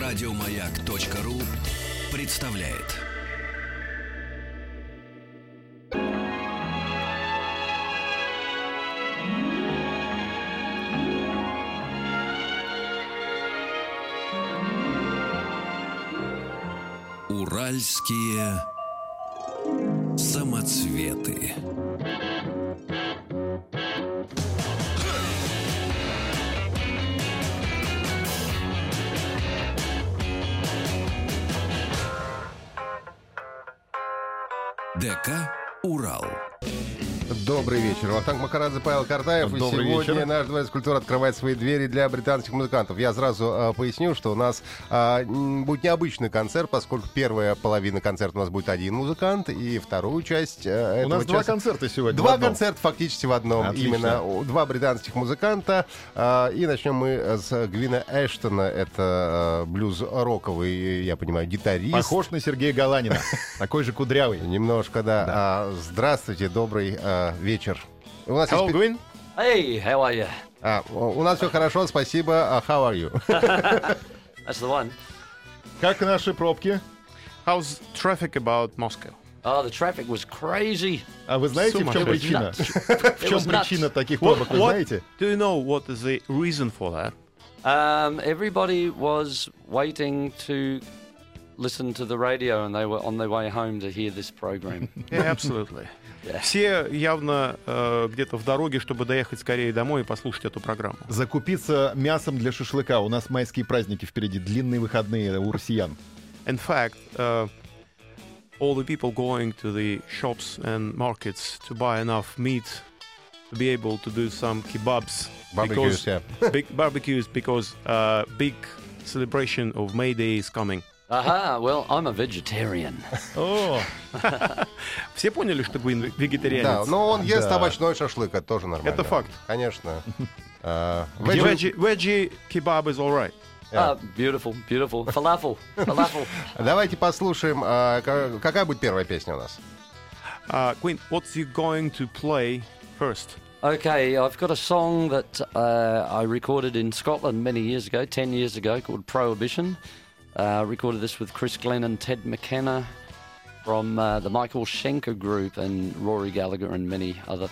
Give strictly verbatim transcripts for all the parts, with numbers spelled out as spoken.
Радиомаяк.ру представляет. Уральские самоцветы. ДК «Урал». Добрый вечер. Вахтанг Махарадзе, Павел Картаев. Добрый и сегодня вечер. наш дворец культуры открывает свои двери для британских музыкантов. Я сразу а, поясню, что у нас а, м, будет необычный концерт, поскольку первая половина концерта у нас будет один музыкант, и вторую часть а, этого У нас два часа- концерта сегодня. Два в одном. концерта фактически в одном. Отлично. Именно у- два британских музыканта. А, и начнем мы с Гвина Эштона. Это а, блюз-роковый, я понимаю, гитарист. Похож на Сергея Галанина. Такой же кудрявый. Немножко, да. А, здравствуйте, добрый а, вечер. У нас Hello, есть... Gwyn. Hey, how are you? А, у нас все хорошо, спасибо. А how are you? That's the one. Как наши пробки? How's traffic about Moscow? Oh, the traffic was crazy. А вы знаете, в чем Сумасшедший. причина? В It чем was nuts. причина таких пробок, вы знаете? Do you know what is the reason for that? Um, everybody was waiting to listen to the radio, and they were on their way home to hear this program. Yeah, absolutely. Yeah. Все явно э, где-то в дороге, чтобы доехать скорее домой и послушать эту программу. Закупиться мясом для шашлыка. У нас майские праздники впереди, длинные выходные у россиян. In fact, uh, all the people going to the shops and markets to buy enough meat to be able to do some kebabs. Barbecues, because, yeah. big barbecues because uh, big celebration of May Day is coming. Aha, well, I'm a vegetarian. О, Все поняли, что Гвин Да, вегетарианец? но он ест Да. овощной шашлык, это тоже нормально. Это факт. Конечно. А, Veggie, veggie- veggie kebab is all right. Yeah. Ah, beautiful, beautiful. Falafel, falafel. Давайте послушаем, а, ка- какая будет первая песня у нас? Uh, Gwen, what's you going to play first? Okay, I've got a song that uh, I recorded in Scotland many years ago, ten years ago, called Prohibition. Uh, recorded this with Chris Glenn and Ted McKenna from uh, the Michael Schenker Group and Rory Gallagher and many other.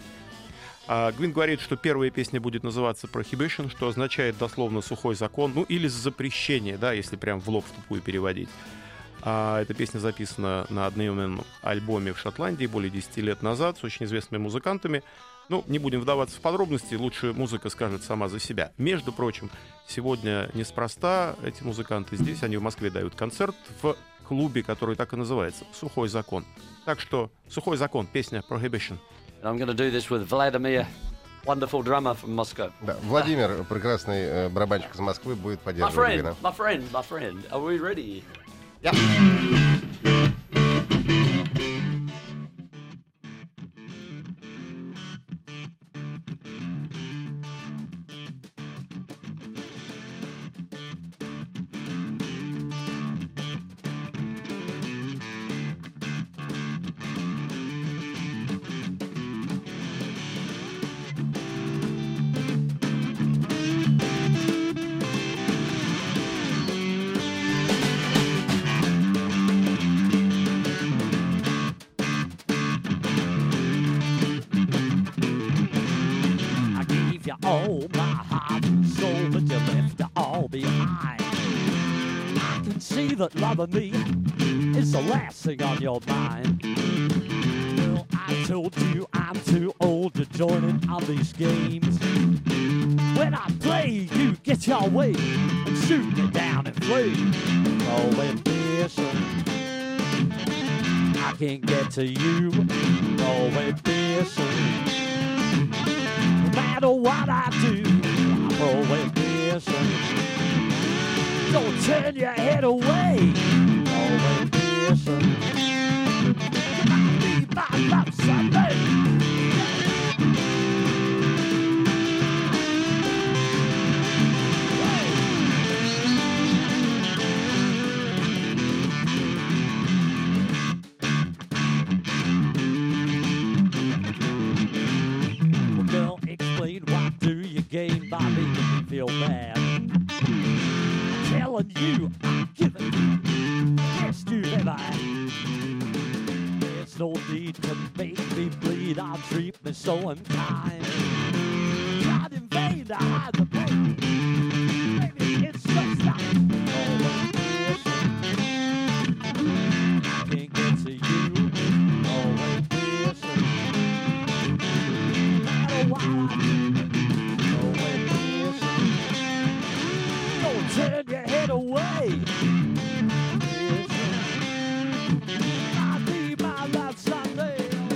А, Гвин говорит, что первая песня будет называться Prohibition, что означает дословно «сухой закон», ну или «запрещение», да, если прям в лоб в тупую переводить. А, эта песня записана на одноименном альбоме в Шотландии более десяти лет назад с очень известными музыкантами. Ну, не будем вдаваться в подробности, лучше музыка скажет сама за себя. Между прочим, сегодня неспроста эти музыканты здесь, они в Москве дают концерт в клубе, который так и называется «Сухой закон». Так что «Сухой закон», песня Prohibition. And I'm going to do this with Vladimir, wonderful drummer from Moscow. Да, Владимир, прекрасный э, барабанщик из Москвы, будет My поддерживать friend, Гвина. my friend, my friend. Are we ready? I gave you all my heart and soul, but you left it all behind. I can see that loving me is the last thing on your mind. Well, I told you I'm too old to join in on these games. When I play, you get your way and shoot me down in flames. Oh, ambition, I can't get to you. Oh, ambition. No matter what I do, I'm prohibition. Don't turn your head away. Prohibition. You might be my love someday. Well, girl, explain what do you gain by making me feel bad? Telling you, I'm giving you the best you've ever had. There's no need to make me bleed, I'll treat me so unkind. Tried in vain to hide the pain. Baby, it's just like always missing. I can't get to you, always missing. No matter what I do, always missing. Don't turn your head away. Missing. I need my life someday.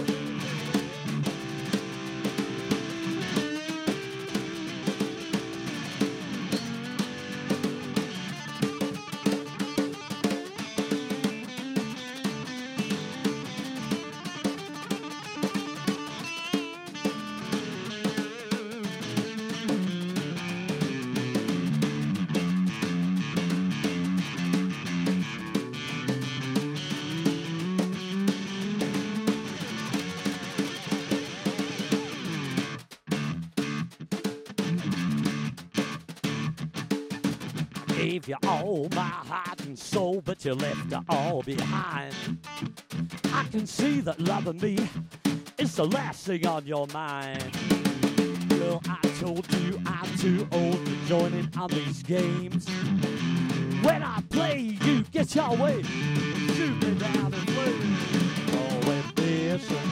Gave you all my heart and soul, but you left it all behind. I can see that loving me is the last thing on your mind. Girl, I told you I'm too old to join in on these games. When I play, you get your way. Shoot me down in flames. Always missing.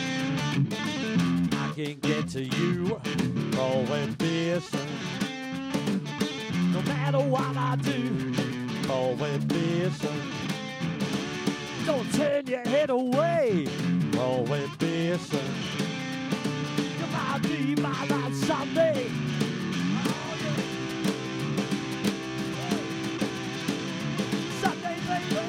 I can't get to you. Always missing. No matter what I do, always missing. Don't turn your head away, always missing. You might be my life someday. Oh, yeah. Someday, baby.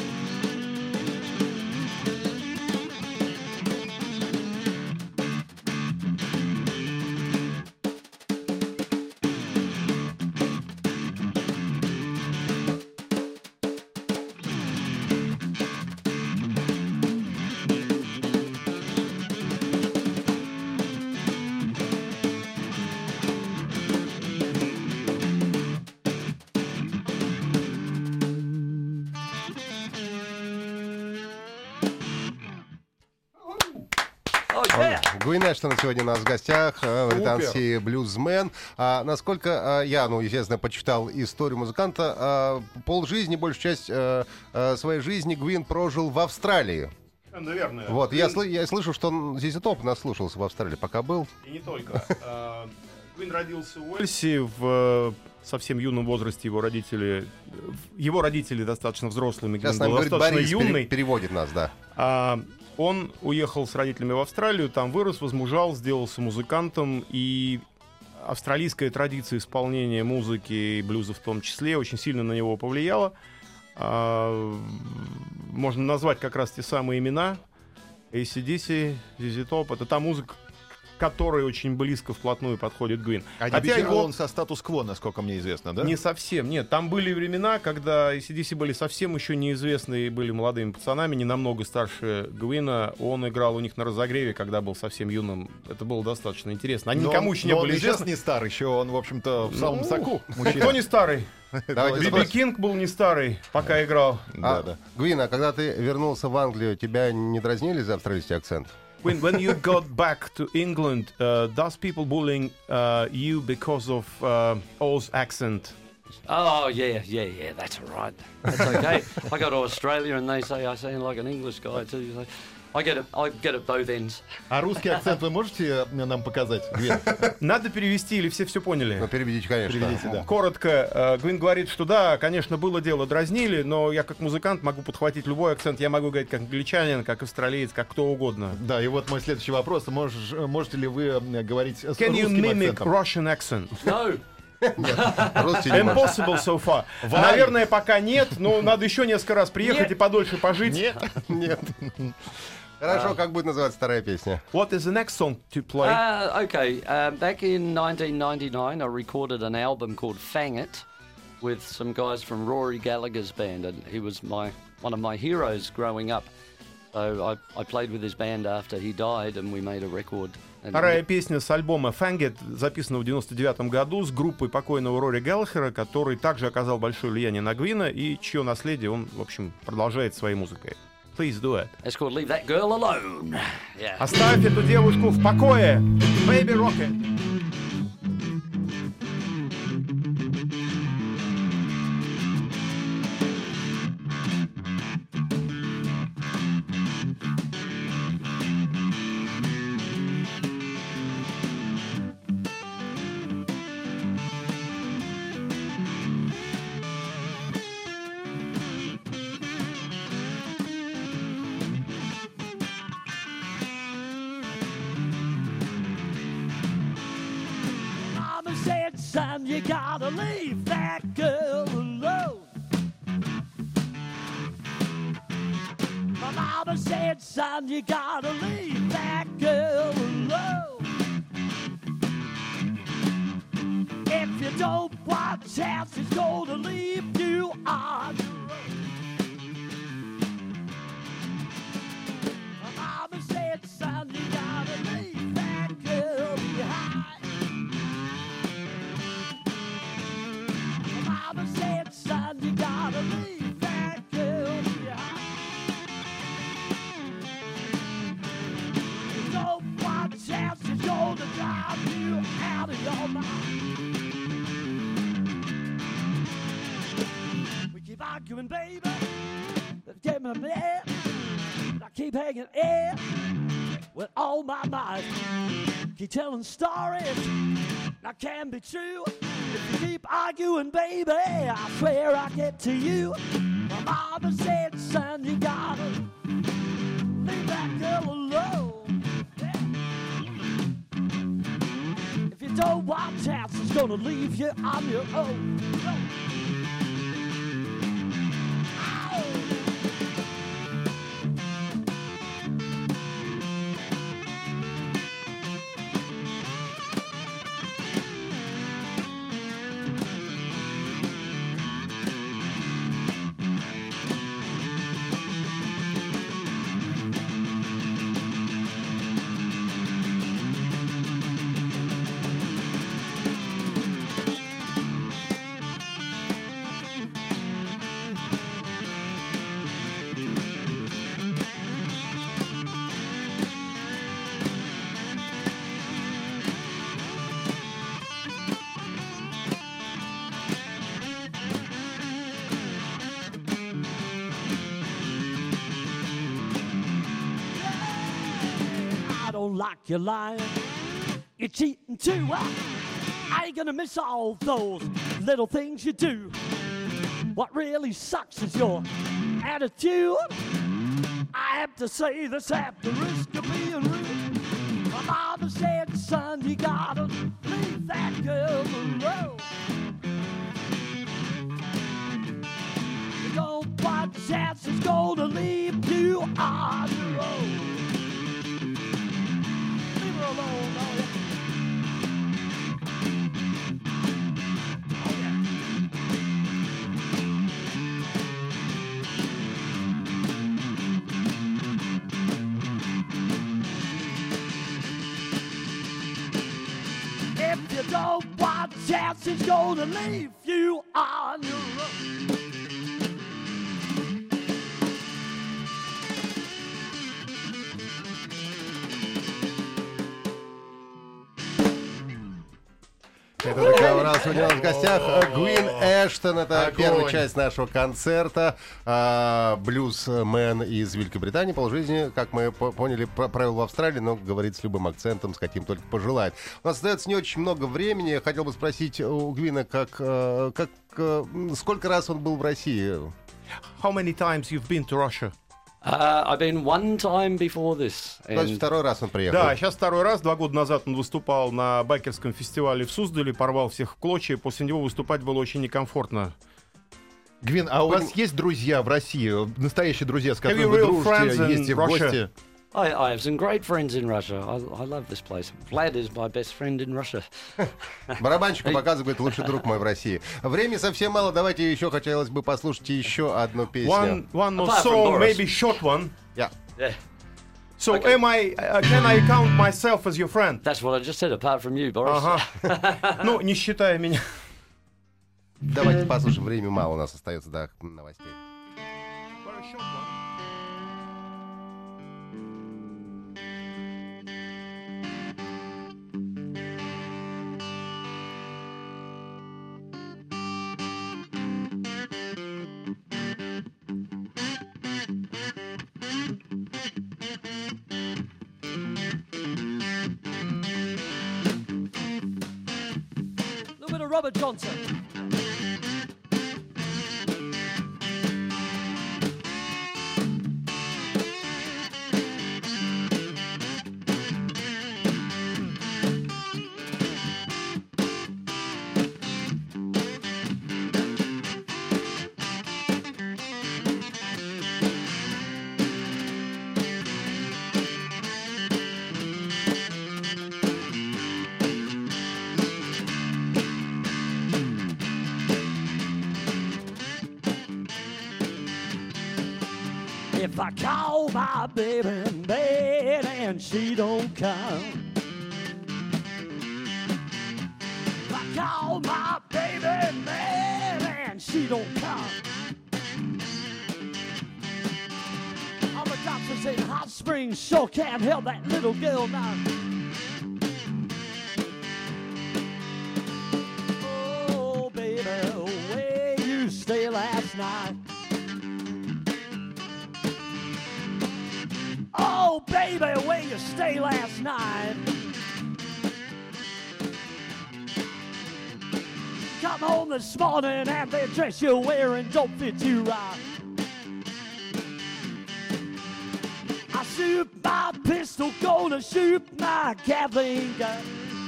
Гвин Эштон сегодня у нас в гостях, э, британский блюзмен. А, насколько э, я, ну, естественно, почитал историю музыканта, э, полжизни, большую часть э, э, своей жизни Гвин прожил в Австралии. Наверное. Вот, я, сл- я слышу, что он здесь топ наслушался в Австралии, пока был. И не только. Гвин родился в Уэльсе в совсем юном возрасте. Его родители, его родители достаточно взрослыми. Сейчас Гвин с нами был говорит достаточно Борис, пере- юный. переводит нас, да. А, он уехал с родителями в Австралию, там вырос, возмужал, сделался музыкантом, и австралийская традиция исполнения музыки и блюза в том числе очень сильно на него повлияла. А, можно назвать как раз те самые имена: эй си ди си, зет зет Top. Это та музыка, которой очень близко вплотную подходит Гвин. А Хотя дебютировал его он со статус-кво, насколько мне известно, да? не совсем, нет. Там были времена, когда эй си ди си были совсем еще неизвестные, были молодыми пацанами, не намного старше Гвина. Он играл у них на разогреве, когда был совсем юным. Это было достаточно интересно. Они Но никому он- еще не но он были и сейчас известны. не старый, еще он, в общем-то, в самом Ну, соку. Кто не старый? Давайте Биби спросим. Кинг был не старый, пока играл. А, Да, да. Гвин, а когда ты вернулся в Англию, тебя не дразнили за австралийский акцент? When, when you got back to England, uh, does people bullying uh, you because of uh, Oz accent? Oh, yeah, yeah, yeah, that's all right. That's okay. I go to Australia and they say I sound like an English guy too. So I get it, I get it both ends. А русский акцент вы можете э, нам показать, Гвин? Надо перевести или все все поняли? Ну, переведите, конечно. Переведите, да. Коротко, э, Гвин говорит, что да, конечно, было дело, дразнили, но я как музыкант могу подхватить любой акцент. Я могу говорить как англичанин, как австралиец, как кто угодно. Да, и вот мой следующий вопрос. Можешь, можете ли вы э, говорить с Can you русским mimic акцентом? Russian accent? No. Русский не может. Impossible so far. Наверное, пока нет, но надо еще несколько раз приехать Нет. и подольше пожить. Нет. Нет. Хорошо, как будет называться вторая песня? What is the next song to play? Uh, okay, um, back in nineteen ninety-nine, I recorded an album called Fang It with some guys from Rory Gallagher's band, and he was my one of my heroes growing up. So I, I played with his band after he died, and we made a record Вторая песня с альбома Fanged, записанного в девяносто девятом году с группой покойного Рори Галлахера, который также оказал большое влияние на Гвина и чье наследие он, в общем, продолжает своей музыкой. Please do it. It's called Leave That Girl Alone. Yeah. Оставь эту девушку в покое. Baby Rocket. Son, you gotta leave that girl alone. My mama said, son, you gotta leave that girl alone. If you don't watch out, she's gonna leave you on your own. My mama said, son, you gotta leave that girl behind. Mama said, son, you gotta leave that girl behind. You don't watch out, she's gonna drive you out of your mind. We keep arguing, baby. Get me mad. I keep hanging in with all my might. Keep telling stories that can be true. If you keep arguing, baby, I swear I'll get to you. My mama said, son, you gotta leave that girl alone. Yeah. If you don't watch out, she's gonna leave you on your own. Ow. Like you're lying, you're cheating too. I ain't gonna miss all those little things you do. What really sucks is your attitude. I have to say this at the risk of being rude. My mama said, son, you gotta leave that girl alone. You don't watch out, she's gonna leave you on your own. Alone, oh yeah. Oh yeah. If you don't watch out, she's gonna leave you on your own. Это такая у нас сегодня у нас в гостях Гвин Эштон. Это Огонь. Первая часть нашего концерта. А, блюзмен из Великобритании. Полжизни, как мы по- поняли, про- провел в Австралии, но говорит с любым акцентом, с каким только пожелает. У нас остается не очень много времени. Хотел бы спросить у Гвина, как, э, как, э, сколько раз он был в России? How many times you've been to Russia? Uh, I've been one time before this. То есть And второй раз он приехал. Да, сейчас второй раз. Два года назад он выступал на байкерском фестивале в Суздале, порвал всех в клочья. После него выступать было очень некомфортно. Гвин, а у вас есть друзья в России? Настоящие друзья, с которыми you вы real friends дружите, in ездите в Russia? гости? I, I have some great friends in Russia. I, I love this place. Vlad is my best friend in Russia. Барабанщику показывает лучший друг мой в России. Времени совсем мало. Давайте еще хотелось бы послушать еще одну песню. One, one more Apart from song, Boris. maybe short one. Yeah. Yeah. So Okay. am I, uh, can I count myself as your friend? That's what I just said, apart from you, Boris. Ага. Ну, не считая меня. Давайте послушаем. Времени мало у нас остается до новостей. Little bit of Robert Johnson. If I call my baby in bed and she don't come, if I call my baby in bed and she don't come, all the doctors in Hot Springs sure can't help that little girl now. Oh, baby, where you stay last night? Oh, baby, where you stay last night? Come home this morning and the dress you're wearing don't fit you right. I shoot my pistol, gonna shoot my Gatling gun.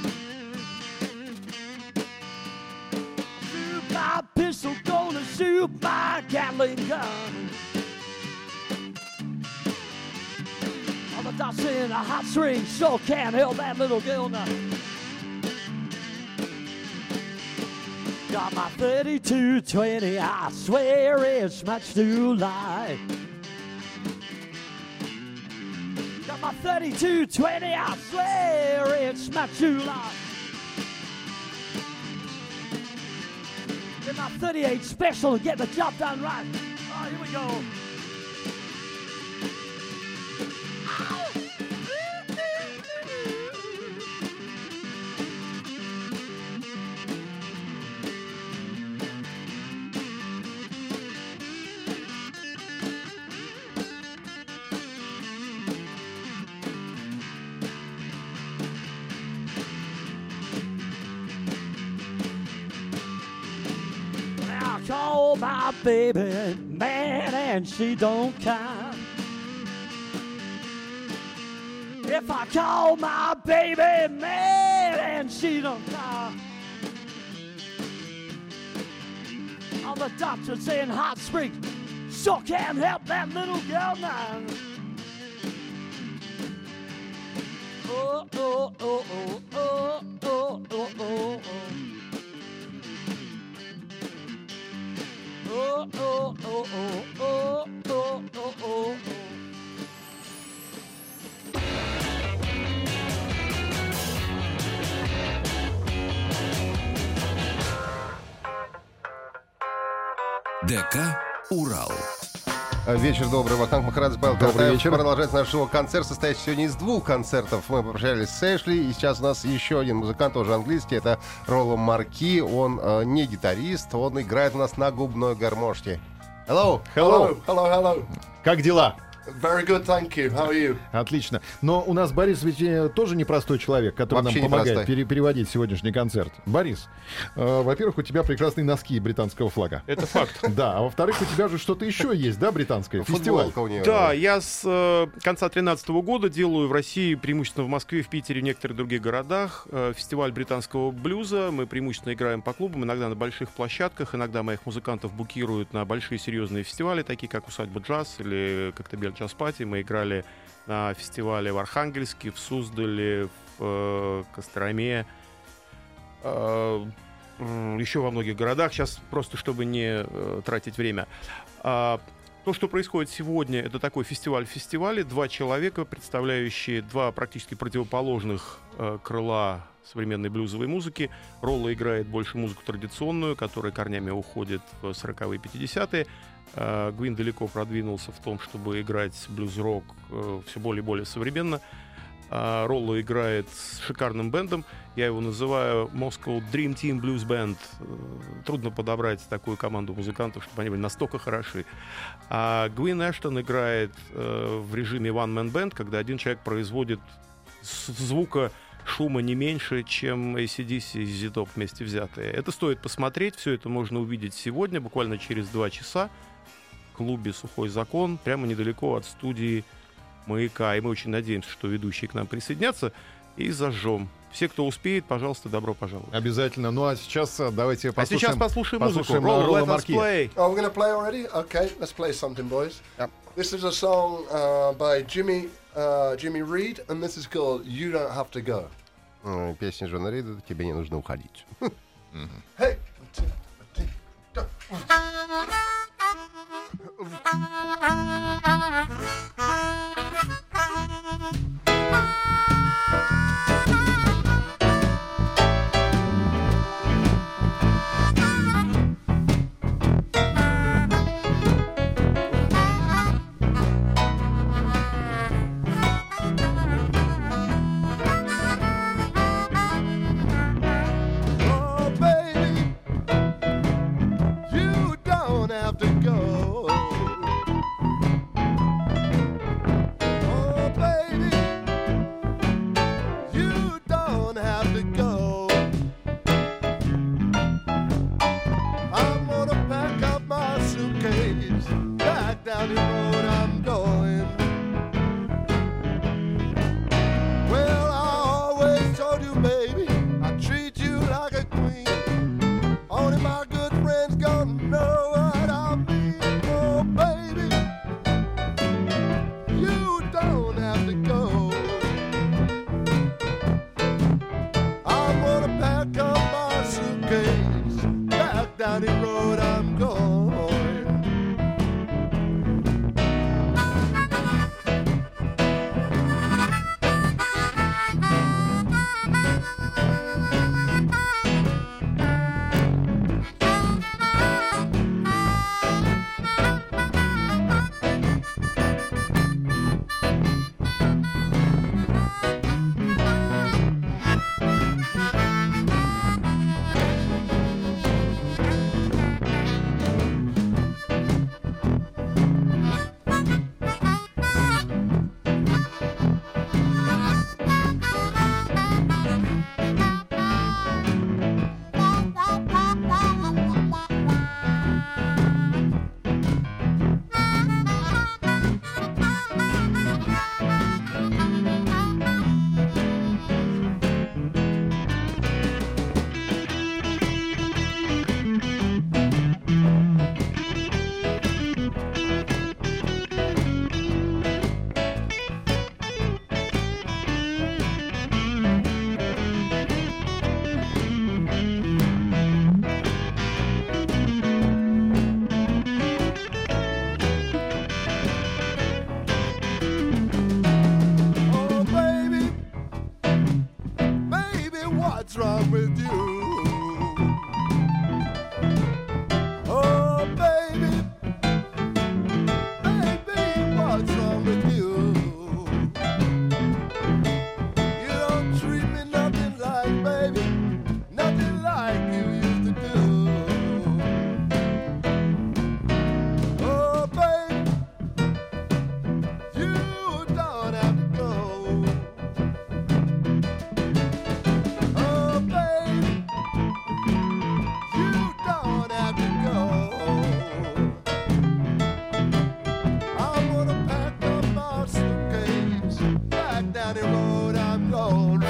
Shoot my pistol, gonna shoot my Gatling gun. The dots in a hot string sure can't help that little girl now. Got my thirty-two twenty, I swear it's much too light. Got my thirty-two twenty, I swear it's much too light. Get my thirty-eight special to get the job done right. Oh, here we go. Call my baby mad and she don't come. If I call my baby mad and she don't come, all the doctors in Hot Springs sure can't help that little girl now. Oh, oh, oh, oh, oh, oh, oh, oh, oh. Oh, oh, oh, oh, oh, oh, oh, oh, oh. ДК «Урал». Вечер добрый, Вахтанг Махарадзе, Павел Добрый Картаев. вечер. Продолжается наш шоу-концерт, состоящий сегодня из двух концертов. Мы попрощались с Эшли, и сейчас у нас еще один музыкант, тоже английский, это Ролло Марки. Он э, не гитарист, он играет у нас на губной гармошке. Hello! Hello. Hello, hello. Как дела? Very good, thank you. How are you? Отлично. Но у нас Борис ведь э, тоже непростой человек, который Вообще нам помогает непростой. пере- переводить сегодняшний концерт. Борис, э, во-первых, у тебя прекрасные носки британского флага. Это факт. Да, а во-вторых, у тебя же что-то еще есть, да, британское? Фестиваль. Футболка у нее. Да, я с э, конца тринадцатого года делаю в России, преимущественно в Москве, в Питере и в некоторых других городах, э, фестиваль британского блюза. Мы преимущественно играем по клубам, иногда на больших площадках, иногда моих музыкантов букируют на большие серьезные фестивали, такие как «Усадьба джаз» или «Коктебель джаз-пати». Мы играли на фестивале в Архангельске, в Суздале, в э, Костроме, э, м, еще во многих городах. Сейчас просто, чтобы не э, тратить время. А, То, что происходит сегодня, это такой фестиваль в фестивале. Два человека, представляющие два практически противоположных э, крыла современной блюзовой музыки. Ролло играет больше музыку традиционную, которая корнями уходит в сороковые и пятидесятые. Э, Гвин далеко продвинулся в том, чтобы играть блюз-рок э, все более и более современно. Uh, Ролло играет с шикарным бендом. Я его называю Moscow Dream Team Blues Band. Uh, трудно подобрать такую команду музыкантов, чтобы они были настолько хороши. А Гвин Эштон играет uh, в режиме One Man Band, когда один человек производит звука, шума не меньше, чем эй си ди си и зет топ вместе взятые. Это стоит посмотреть. Все это можно увидеть сегодня, буквально через два часа, в клубе «Сухой закон», прямо недалеко от студии «Маяка». И мы очень надеемся, что ведущие к нам присоединятся, и зажжем. Все, кто успеет, пожалуйста, добро пожаловать. Обязательно. Ну а сейчас давайте послушаем. А сейчас послушаем музыку. послушаем Roll, Ролло let us Марки. play. Oh, we're going to play already? Okay, let's play something, boys. Yep. This is a song uh, by Jimmy uh, Jimmy Reed, and this is called You Don't Have to Go. Э, Песня Джона Рида «Тебе не нужно уходить». Hey! Oh, baby, you don't have to go. Oh, baby, you don't have to go. I'm gonna pack up my suitcase, back down the road I'm going. Well, I always told you, baby, I treat you like a queen. Only my good friends gonna know what I mean. Oh, baby, you don't have to go. I'm gonna pack up my suitcase, back down the road I'm going. Oh, baby, baby, what's wrong with you? Oh, baby, baby, what's wrong with you? You don't treat me nothing like, baby, nothing like you used to do. Oh, baby, you don't have to go. Oh, baby, you don't have to go. I'm gonna pack up my suitcase, back down the road I'm going.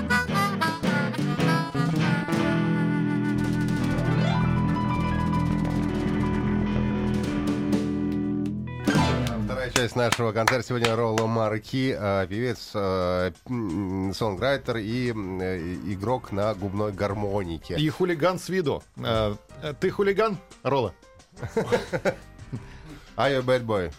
Вторая часть нашего концерта сегодня Ролло Марки, э, певец, э, м, сонграйтер и э, игрок на губной гармонике. И хулиган с виду. Э, э, Ты хулиган, Ролло? Are you a bad boy?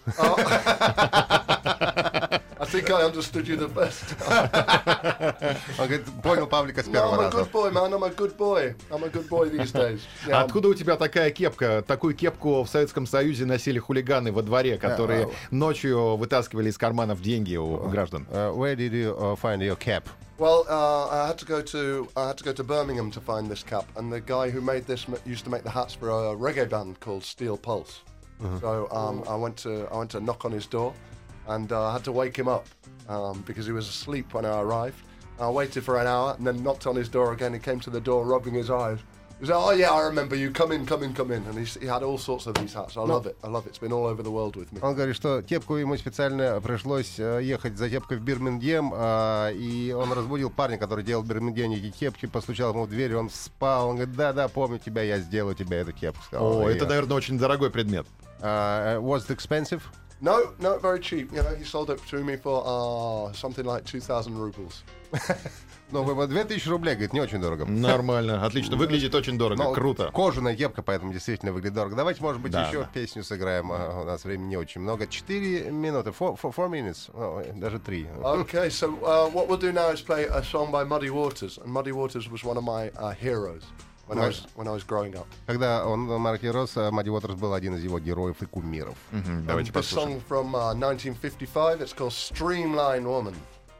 I think I understood you the best. Он говорит, понял Павлика с No, первого I'm a раза. good boy, man. I'm a good boy. I'm a good boy these days. Yeah, I'm- Откуда у тебя такая кепка? Такую кепку в Советском Союзе носили хулиганы во дворе, которые ночью вытаскивали из карманов деньги у граждан. Uh, where did you uh, find your cap? Well, uh, I had to go to I had to go to Birmingham to find this cap, and the guy who made this m- used to make the hats for a reggae band called Steel Pulse. So um, I went to I went to knock on his door, and uh, I had to wake him up um, because he was asleep when I arrived. I waited for an hour and then knocked on his door again. He came to the door, rubbing his eyes. He said, "Oh yeah, I remember you. Come in, come in, come in." And he, he had all sorts of these hats. I love it. I love it. It's been all over the world with me. Он говорит, что кепку ему специально пришлось э, ехать за кепкой в Бирмингем, э, и он разбудил парня, который делал в Бирмингеме эти кепки, постучал ему в дверь, он спал, он говорит, да-да, помню тебя, я сделаю тебе эту кепку. Сказал, О, «И это, я». наверное, очень дорогой предмет. Uh, was it expensive? No, no, very cheap. You know, he sold it to me for uh, something like two thousand rubles. Ну, вы- две тысячи рублей, говорит, не очень дорого. Нормально, отлично. Выглядит очень дорого, Ну, круто. Кожаная кепка, поэтому действительно выглядит дорого. Давайте, может быть, Да, еще да. песню сыграем. А, у нас времени не очень много. Четыре минуты. Four, four, four minutes. О, даже три. Okay, so uh, what we'll do now is play a song by Muddy Waters, and Muddy Waters was one of my uh, heroes when I was when I was growing up. Когда он, Марки рос, Мадди Уотерс был один из его героев и кумиров. Мгм, Давайте This послушаем. song from uh, nineteen fifty-five. It's called Streamline Woman.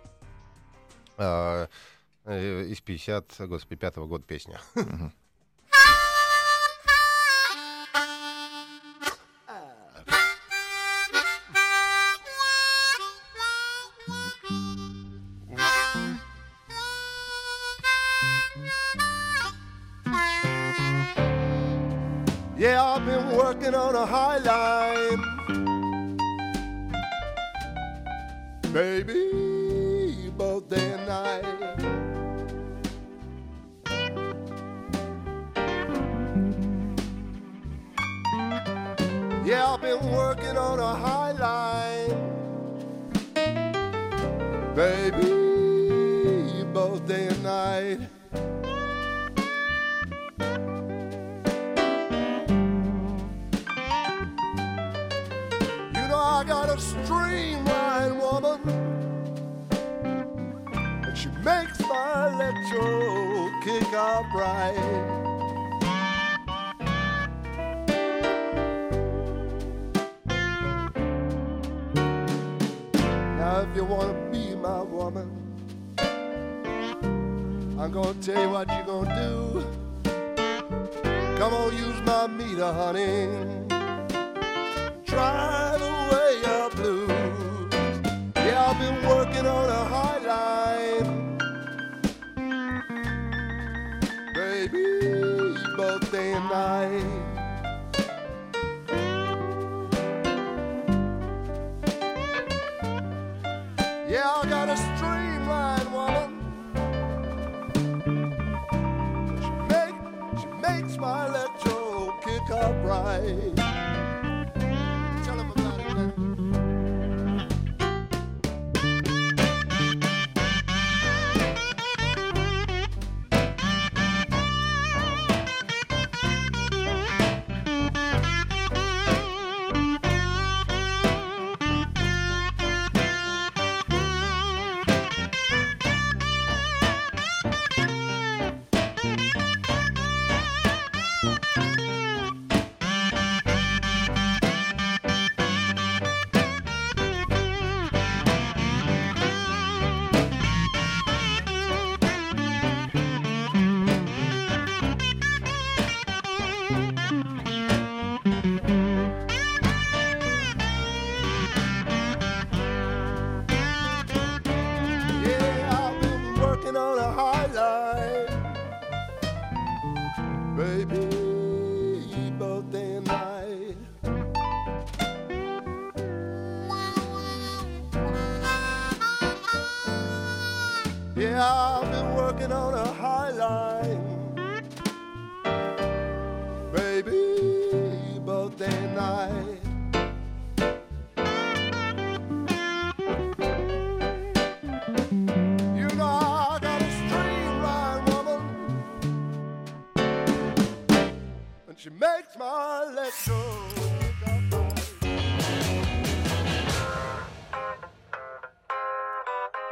А, э, из пятьдесят, господи, пятого года песня. Yeah, I've been working on a high line, baby, both day and night. Yeah, I've been working on a high line, baby, both day and night. You know I got a streamline woman, and she makes my electro kick out right. Now if you wanna be my woman, I'm gonna tell you what you're gonna do. Come on, use my meter, honey. Drive away your blues. Yeah, I've been working on a high line, baby, both day and night. Yeah, I got a streamline woman. She make, she makes my electro kick up right. Tell 'em about it now. Yeah, I've been working on a high line, baby, both day and night. Yeah, I've been working on a high line, baby, both day and night. You know I got a streamline woman, and she makes my electro.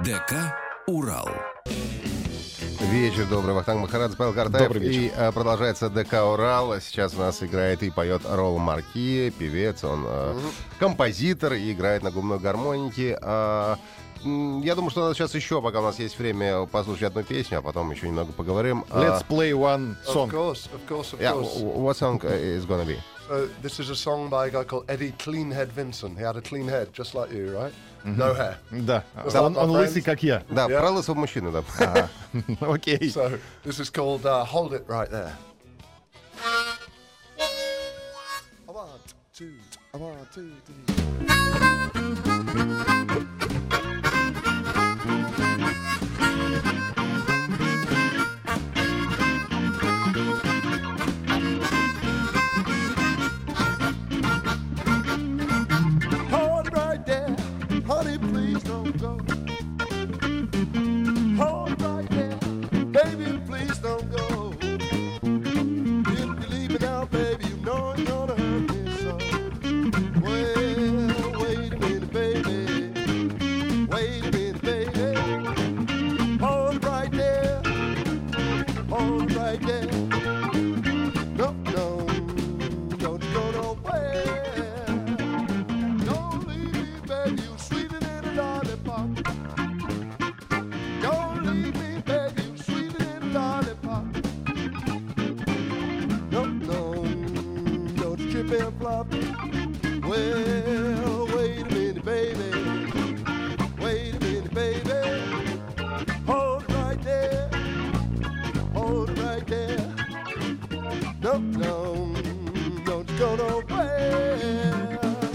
ДК «Урал». Вечер добрый. Вахтанг Махарадзе, Павел Картаев. Добрый вечер. И а, продолжается ДК «Урал». Сейчас у нас играет и поет Ролло Марки, певец, он а, композитор и играет на губной гармонике. А, м, я думаю, что надо сейчас еще, пока у нас есть время, послушать одну песню, а потом еще немного поговорим. Let's play one Of song. course, of course, of Yeah, course. what song is gonna be? So this is a song by a guy called Eddie Cleanhead Vinson. He had a clean head, just like you, right? No hair. Да, What's он, up, my он лысый, friends? как я. Да, Yeah. про лысого мужчину, да. Окей. So this is called uh, Hold It Right There. One, two, one, two, three. Hold it right there, honey, please don't go. Hold it right there, baby, please don't go. If you leave me now, baby, you know you're gonna hurt me so. Well, wait a minute, baby. Wait a minute, baby. Hold it right there. Hold it right there. No, no, don't you go nowhere. Don't leave me, baby, you sweeter than a lollipop. Don't leave me, baby, you sweeter than a lollipop. No, no, don't you trip and flop. Well, wait a minute, baby. Wait a minute, baby. Hold it right there. Hold it right there. No, no, don't you go nowhere.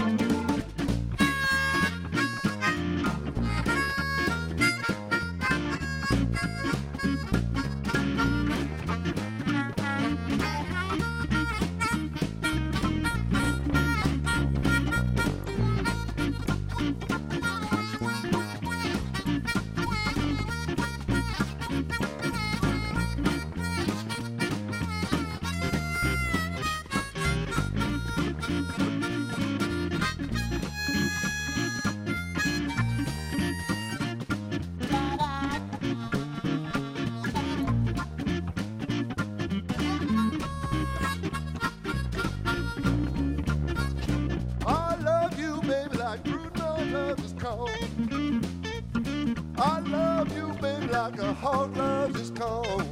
I love you, baby, like Bruno loves his corn. I love you, baby, like a hog loves his corn.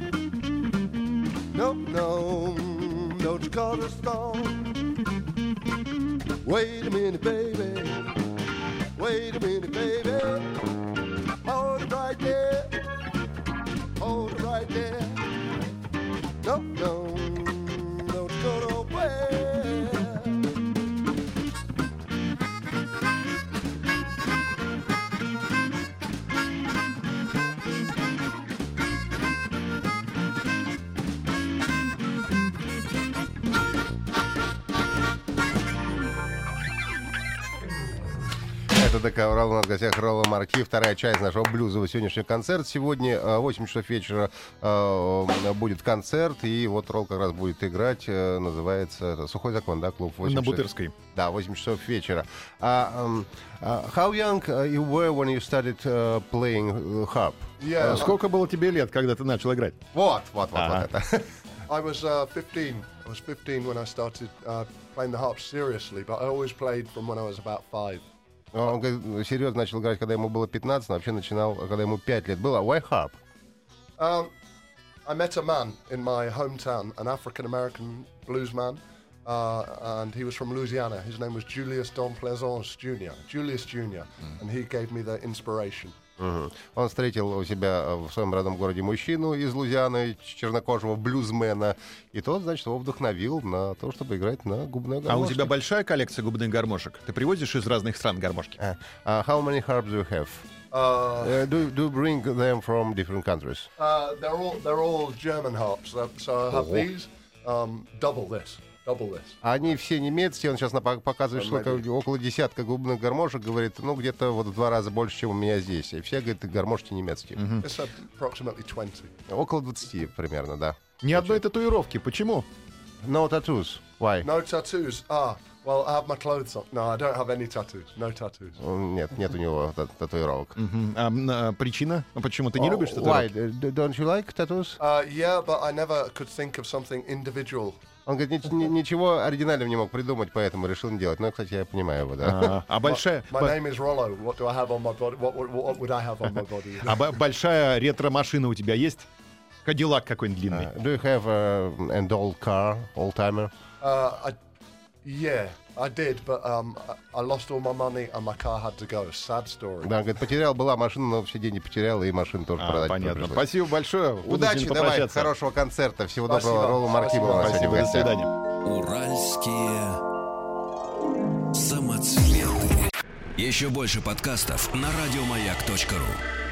No, no, don't you call a storm. Wait a minute, baby. Wait a minute, baby. Hold it right there. Hold it right there. No, no, don't you go nowhere. Это ДК «Урал», у нас в гостях Ролло Марки, вторая часть нашего блюзового сегодняшнего концерта. Сегодня э, восемь часов вечера э, будет концерт, и вот Ролл как раз будет играть, э, называется это, «Сухой закон», да, клуб? восемь На часов. Бутырской. Да, восемь часов вечера. Uh, um, uh, how young uh, you were when you started uh, playing uh, harp? Yeah, А Сколько было тебе лет, когда ты начал играть? Вот, вот, вот, Ага. вот это. I was uh, fifteen. I was fifteen when I started uh, playing the harp seriously, but I always played from when I was about five. Он говорит, серьезно начал играть, когда ему было пятнадцать, но вообще начинал, когда ему пять лет было. Why harp? Um, I met a man in my hometown, an African-American blues man, uh, and he was from Louisiana. His name was Julius Don Plaisance Junior Julius Junior And he gave me the inspiration. Мгм. Он встретил у себя в своем родном городе мужчину из Луизианы, чернокожего блюзмена, и тот, значит, его вдохновил на то, чтобы играть на губной гармошке. А у тебя большая коллекция губных гармошек? Ты привозишь из разных стран гармошки? Uh, uh, how many harps do you have? Uh, Uh, do, do you bring them from different countries? uh, they're all they're all German harps. Uh, so I have Oh. these, um, double this, double this. Они все немецкие, он сейчас напо- показывает, что Maybe. около десятка губных гармошек, говорит, ну, где-то вот в два раза больше, чем у меня здесь. И все, говорит, гармошки немецкие. It's approximately twenty. Около двадцати примерно, да. Ни одной татуировки. Почему? No tattoos. Why? No tattoos. Ah, Well, I have my clothes on. No, I don't have any tattoos. No tattoos. Нет, нет у него та- татуировок. Мгм. А, м, а, причина? А почему ты не Oh, любишь Why? татуировки? D- Don't you like tattoos? Uh, yeah, but I never could think of something individual. Он говорит, «Ни- ни- ничего оригинального не мог придумать, поэтому решил не делать. Ну, кстати, я понимаю его, да. А, а большая, My б- name is Rollo. What do I have on my body? What, what, what would I have on my body? а б- большая ретро-машина у тебя есть? Кадиллак какой-нибудь длинный. Uh, do you have uh, an old car, old-timer? Uh, I, yeah, I did, but um, I, I lost all my money and my car had to go. Sad story. Да, он говорит, потерял, была машина, но все деньги потерял, и машину тоже А, продать понятно. пришлось. Спасибо большое. Удачи, Вынужден давай, попрощаться. хорошего концерта. Всего Спасибо. доброго. Ролла Маркима у нас сегодня Спасибо, в до гостях. свидания. Уральские самоцветы. Еще больше подкастов на радиомаяк точка ру.